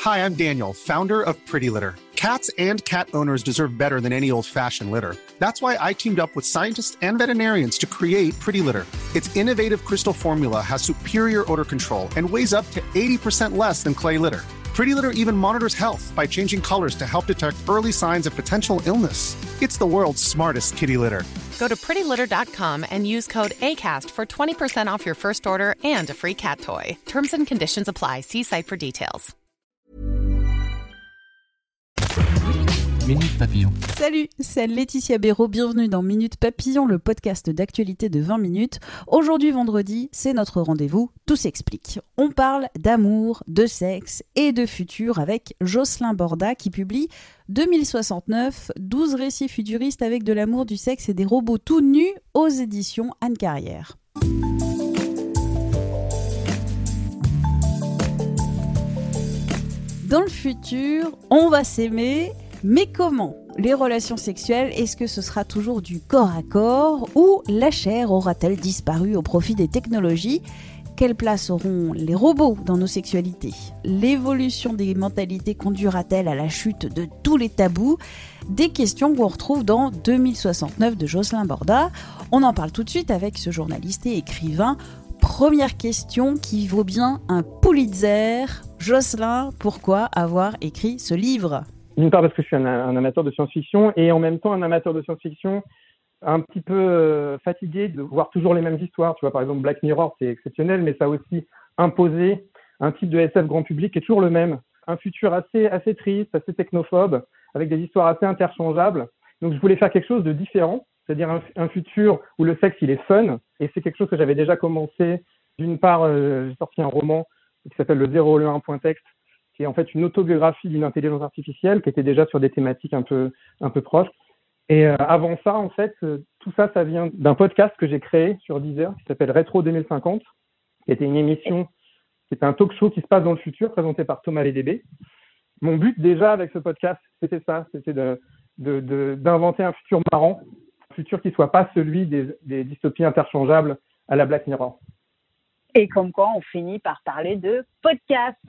Hi, I'm Daniel, founder of Pretty Litter. Cats and cat owners deserve better than any old-fashioned litter. That's why I teamed up with scientists and veterinarians to create Pretty Litter. Its innovative crystal formula has superior odor control and weighs up to 80% less than clay litter. Pretty Litter even monitors health by changing colors to help detect early signs of potential illness. It's the world's smartest kitty litter. Go to prettylitter.com and use code ACAST for 20% off your first order and a free cat toy. Terms and conditions apply. See site for details. Minute Papillon. Salut, c'est Laetitia Béraud, bienvenue dans Minute Papillon, le podcast d'actualité de 20 minutes. Aujourd'hui vendredi, c'est notre rendez-vous Tout s'explique. On parle d'amour, de sexe et de futur avec Jocelyn Borda qui publie 2069, 12 récits futuristes avec de l'amour, du sexe et des robots tout nus aux éditions Anne Carrière. Dans le futur, on va s'aimer. Mais comment ? Les relations sexuelles, est-ce que ce sera toujours du corps à corps ou la chair aura-t-elle disparu au profit des technologies ? Quelle place auront les robots dans nos sexualités ? L'évolution des mentalités conduira-t-elle à la chute de tous les tabous ? Des questions qu'on retrouve dans 2069 de Jocelyn Borda. On en parle tout de suite avec ce journaliste et écrivain. Première question qui vaut bien un Pulitzer. Jocelyn, pourquoi avoir écrit ce livre ? D'une part parce que je suis un amateur de science-fiction et en même temps un amateur de science-fiction un petit peu fatigué de voir toujours les mêmes histoires. Tu vois, par exemple, Black Mirror, c'est exceptionnel, mais ça a aussi imposé un type de SF grand public qui est toujours le même. Un futur assez triste, assez technophobe, avec des histoires assez interchangeables. Donc, je voulais faire quelque chose de différent, c'est-à-dire un futur où le sexe, il est fun. Et c'est quelque chose que j'avais déjà commencé. D'une part, j'ai sorti un roman qui s'appelle Le 001.text, qui est en fait une autobiographie d'une intelligence artificielle qui était déjà sur des thématiques un peu proches. Et avant ça, en fait, tout ça vient d'un podcast que j'ai créé sur Deezer qui s'appelle Rétro 2050, qui était une émission, qui était un talk show qui se passe dans le futur, présenté par Thomas Lédébé. Mon but déjà avec ce podcast, c'était d'inventer un futur marrant, un futur qui soit pas celui des dystopies interchangeables à la Black Mirror. Et comme quoi, on finit par parler de podcast.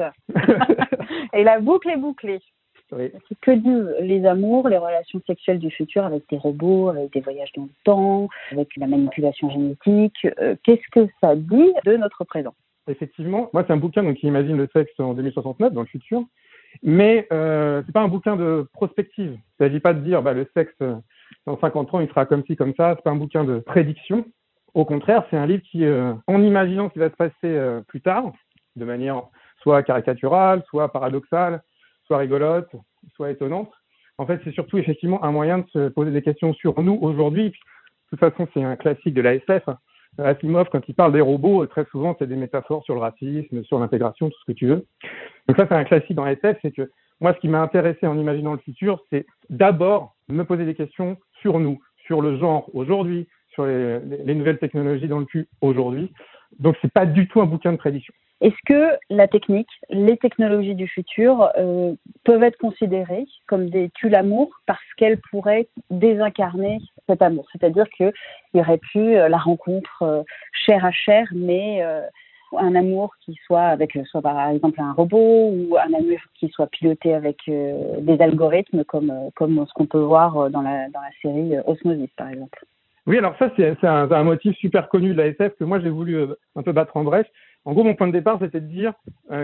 Et la boucle est bouclée. Oui. Que disent les amours, les relations sexuelles du futur avec des robots, avec des voyages dans le temps, avec la manipulation génétique. Qu'est-ce que ça dit de notre présent ? Effectivement, moi c'est un bouquin qui imagine le sexe en 2069 dans le futur, mais c'est pas un bouquin de prospective. Il ne s'agit pas de dire le sexe dans 50 ans il sera comme ci comme ça. C'est pas un bouquin de prédiction. Au contraire, c'est un livre qui, en imaginant ce qui va se passer plus tard, de manière soit caricaturale, soit paradoxale, soit rigolote, soit étonnante, en fait, c'est surtout effectivement un moyen de se poser des questions sur nous aujourd'hui. De toute façon, c'est un classique de la SF. Asimov, quand il parle des robots, très souvent, c'est des métaphores sur le racisme, sur l'intégration, tout ce que tu veux. Donc ça, c'est un classique dans la SF. C'est que moi, ce qui m'a intéressé en imaginant le futur, c'est d'abord me poser des questions sur nous, sur le genre aujourd'hui, sur les nouvelles technologies dans le cul aujourd'hui. Donc, c'est pas du tout un bouquin de prédiction. Est-ce que la technique, les technologies du futur peuvent être considérées comme des tue-l'amour parce qu'elles pourraient désincarner cet amour ? C'est-à-dire qu'il y aurait plus la rencontre chair à chair, mais un amour qui soit avec soit par exemple un robot ou un amour qui soit piloté avec des algorithmes comme ce qu'on peut voir dans la série Osmosis, par exemple. Oui, alors ça, c'est un motif super connu de la SF que moi, j'ai voulu un peu battre en brèche. En gros, mon point de départ, c'était de dire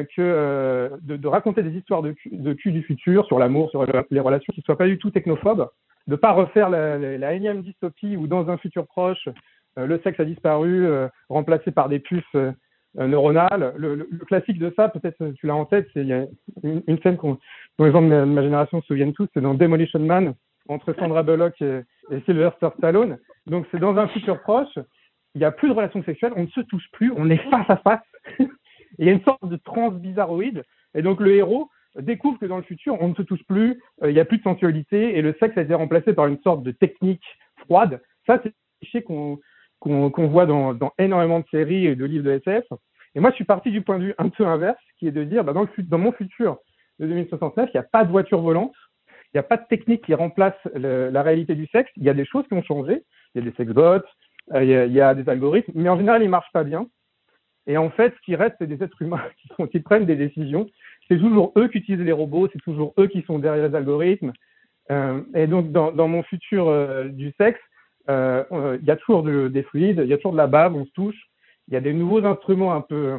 que de raconter des histoires de cul du futur sur l'amour, sur les relations qui ne soient pas du tout technophobes, de ne pas refaire la énième dystopie où dans un futur proche, le sexe a disparu, remplacé par des puces neuronales. Le classique de ça, peut-être tu l'as en tête, il y a une scène dont les gens de ma génération se souviennent tous, c'est dans Demolition Man, entre Sandra Bullock et Sylvester Stallone. Donc, c'est dans un futur proche, il n'y a plus de relations sexuelles, on ne se touche plus, on est face à face. Il y a une sorte de transe bizarroïde. Et donc, le héros découvre que dans le futur, on ne se touche plus, il n'y a plus de sensualité et le sexe a été remplacé par une sorte de technique froide. Ça, c'est un cliché qu'on voit dans énormément de séries et de livres de SF. Et moi, je suis parti du point de vue un peu inverse, qui est de dire, dans mon futur de 2069, il n'y a pas de voiture volante, il n'y a pas de technique qui remplace la réalité du sexe. Il y a des choses qui ont changé. Il y a des sexbots, il y a des algorithmes, mais en général, ils ne marchent pas bien. Et en fait, ce qui reste, c'est des êtres humains qui prennent des décisions. C'est toujours eux qui utilisent les robots, c'est toujours eux qui sont derrière les algorithmes. Et donc, dans mon futur du sexe, il y a toujours des fluides, il y a toujours de la bave, on se touche. Il y a des nouveaux instruments un peu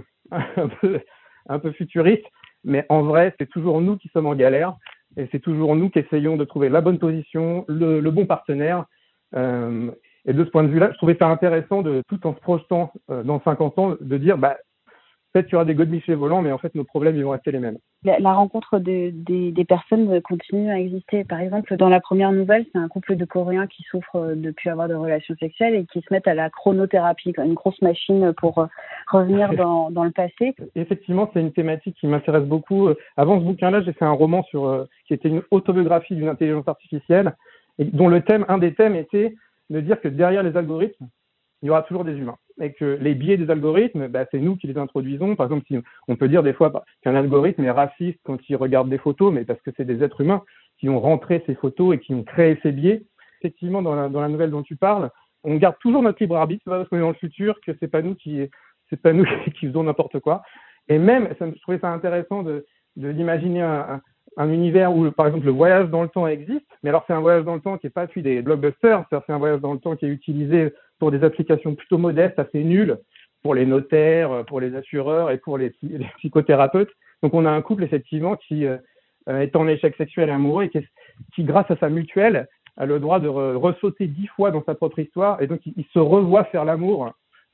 futuristes, mais en vrai, c'est toujours nous qui sommes en galère. Et c'est toujours nous qui essayons de trouver la bonne position, le bon partenaire. Et de ce point de vue-là, je trouvais ça intéressant, tout en se projetant dans 50 ans, de dire peut-être qu'il y aura des godemichés volants, mais en fait, nos problèmes, ils vont rester les mêmes. La rencontre des personnes continue à exister. Par exemple, dans la première nouvelle, c'est un couple de Coréens qui souffrent de plus avoir de relations sexuelles et qui se mettent à la chronothérapie, une grosse machine pour revenir dans le passé. Effectivement, c'est une thématique qui m'intéresse beaucoup. Avant ce bouquin-là, j'ai fait un roman qui était une autobiographie d'une intelligence artificielle, et dont un des thèmes était de dire que derrière les algorithmes, il y aura toujours des humains. Et que les biais des algorithmes, c'est nous qui les introduisons. Par exemple, on peut dire des fois qu'un algorithme est raciste quand il regarde des photos, mais parce que c'est des êtres humains qui ont rentré ces photos et qui ont créé ces biais. Effectivement, dans la nouvelle dont tu parles, on garde toujours notre libre arbitre. C'est pas parce qu'on est dans le futur que c'est pas nous qui faisons n'importe quoi. Et même, je trouvais ça intéressant d'imaginer un univers où, par exemple, le voyage dans le temps existe. Mais alors, c'est un voyage dans le temps qui n'est pas celui des blockbusters. C'est un voyage dans le temps qui est utilisé pour des applications plutôt modestes, assez nulles, pour les notaires, pour les assureurs et pour les psychothérapeutes. Donc, on a un couple, effectivement, qui est en échec sexuel et amoureux et qui, grâce à sa mutuelle, a le droit de ressauter 10 fois dans sa propre histoire. Et donc, ils se revoient faire l'amour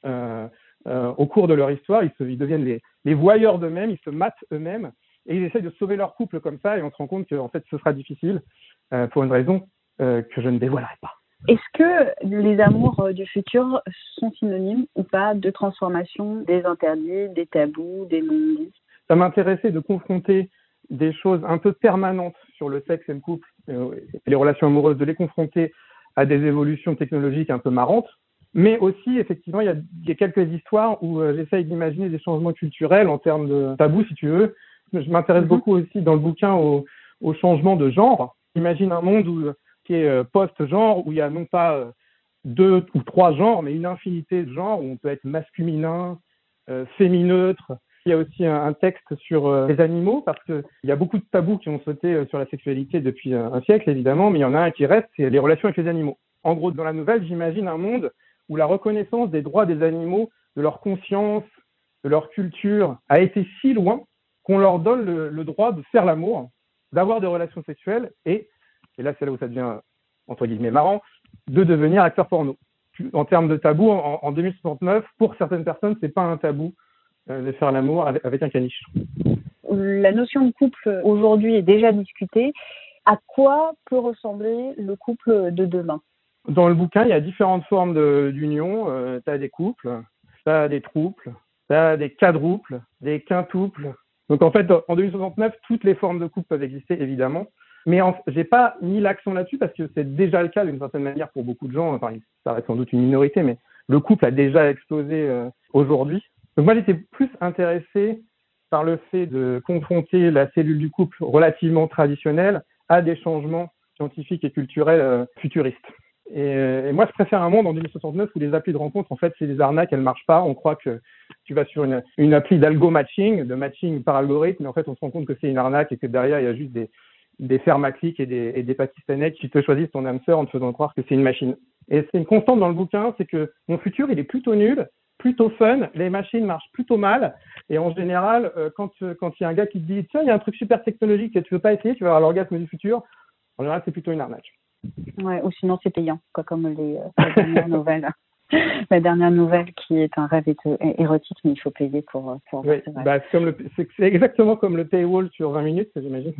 au cours de leur histoire. Ils deviennent les voyeurs d'eux-mêmes, ils se matent eux-mêmes. Et ils essayent de sauver leur couple comme ça, et on se rend compte qu'en fait, ce sera difficile pour une raison que je ne dévoilerai pas. Est-ce que les amours du futur sont synonymes ou pas de transformation des interdits, des tabous, des non-dits ? Ça m'intéressait de confronter des choses un peu permanentes sur le sexe et le couple, et les relations amoureuses, de les confronter à des évolutions technologiques un peu marrantes. Mais aussi, effectivement, il y a quelques histoires où j'essaye d'imaginer des changements culturels en termes de tabous, si tu veux. Je m'intéresse beaucoup aussi dans le bouquin au changement de genre. Imagine un monde qui est post-genre, où il y a non pas 2 ou 3 genres, mais une infinité de genres, où on peut être masculin, fémineutre. Il y a aussi un texte sur les animaux, parce qu'il y a beaucoup de tabous qui ont sauté sur la sexualité depuis un siècle, évidemment, mais il y en a un qui reste, c'est les relations avec les animaux. En gros, dans la nouvelle, j'imagine un monde où la reconnaissance des droits des animaux, de leur conscience, de leur culture, a été si loin qu'on leur donne le droit de faire l'amour, d'avoir des relations sexuelles et là c'est là où ça devient entre guillemets marrant, de devenir acteur porno. En termes de tabou, en 2069, pour certaines personnes, c'est pas un tabou de faire l'amour avec un caniche. La notion de couple aujourd'hui est déjà discutée. À quoi peut ressembler le couple de demain ? Dans le bouquin, il y a différentes formes d'union. Tu as des couples, tu as des trouples, tu as des quadruples, des quintuples. Donc en fait, en 2069, toutes les formes de couple peuvent exister, évidemment. Mais j'ai pas mis l'accent là-dessus parce que c'est déjà le cas d'une certaine manière pour beaucoup de gens. Enfin, ça reste sans doute une minorité, mais le couple a déjà explosé aujourd'hui. Donc moi, j'étais plus intéressé par le fait de confronter la cellule du couple relativement traditionnelle à des changements scientifiques et culturels futuristes. Et moi, je préfère un monde en 2069 où les applis de rencontre, en fait, c'est des arnaques, elles marchent pas. On croit que tu vas sur une appli d'algo-matching, de matching par algorithme, mais en fait, on se rend compte que c'est une arnaque et que derrière, il y a juste des fermes à clics et des Pakistanais qui te choisissent ton âme sœur en te faisant croire que c'est une machine. Et c'est une constante dans le bouquin, c'est que mon futur, il est plutôt nul, plutôt fun, les machines marchent plutôt mal, et en général, quand il y a un gars qui te dit « Tiens, il y a un truc super technologique que tu veux pas essayer, tu vas avoir l'orgasme du futur », en général, c'est plutôt une arnaque. Ouais, ou sinon c'est payant, comme la dernière nouvelle. La dernière nouvelle qui est un rêve érotique, mais il faut payer pour oui, c'est exactement comme le paywall sur 20 minutes, j'imagine.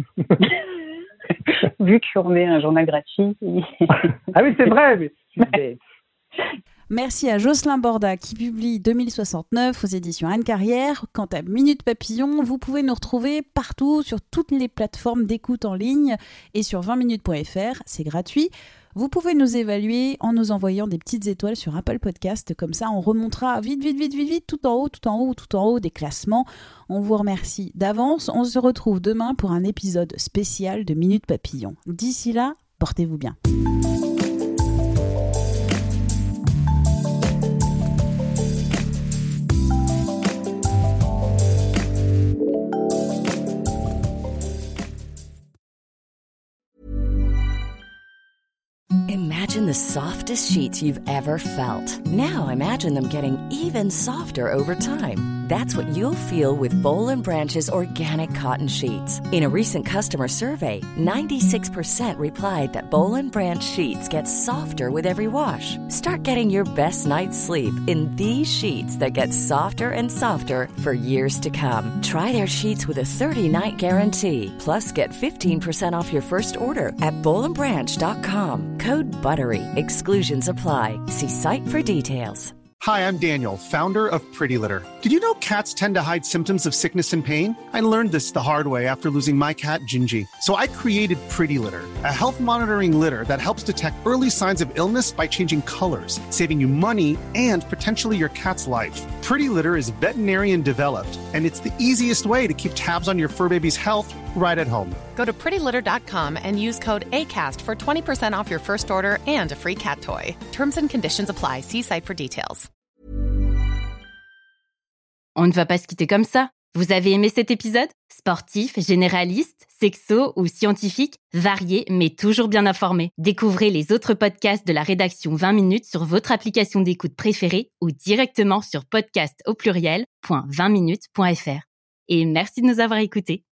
Vu qu'on met un journal gratuit. Ah oui, c'est vrai, mais je suis bête. Merci à Jocelyn Borda qui publie 2069 aux éditions Anne Carrière. Quant à Minute Papillon, vous pouvez nous retrouver partout sur toutes les plateformes d'écoute en ligne et sur 20minutes.fr, c'est gratuit. Vous pouvez nous évaluer en nous envoyant des petites étoiles sur Apple Podcast, comme ça on remontera vite, tout en haut des classements. On vous remercie d'avance, on se retrouve demain pour un épisode spécial de Minute Papillon. D'ici là, portez-vous bien. imagine the softest sheets you've ever felt. Now imagine them getting even softer over time. That's what you'll feel with Boll & Branch's organic cotton sheets. In a recent customer survey, 96% replied that Boll & Branch sheets get softer with every wash. Start getting your best night's sleep in these sheets that get softer and softer for years to come. Try their sheets with a 30-night guarantee. Plus, get 15% off your first order at bollandbranch.com. Code BUTTERY. Exclusions apply. See site for details. Hi, I'm Daniel, founder of Pretty Litter. Did you know cats tend to hide symptoms of sickness and pain? I learned this the hard way after losing my cat, Gingy. So I created Pretty Litter, a health monitoring litter that helps detect early signs of illness by changing colors, saving you money and potentially your cat's life. Pretty Litter is veterinarian developed, and it's the easiest way to keep tabs on your fur baby's health right at home. Go to prettylitter.com and use code ACAST for 20% off your first order and a free cat toy. Terms and conditions apply. See site for details. On ne va pas se quitter comme ça. Vous avez aimé cet épisode ? Sportif, généraliste, sexo ou scientifique, varié mais toujours bien informé. Découvrez les autres podcasts de la rédaction 20 minutes sur votre application d'écoute préférée ou directement sur podcast@20minutes.fr. Et merci de nous avoir écoutés.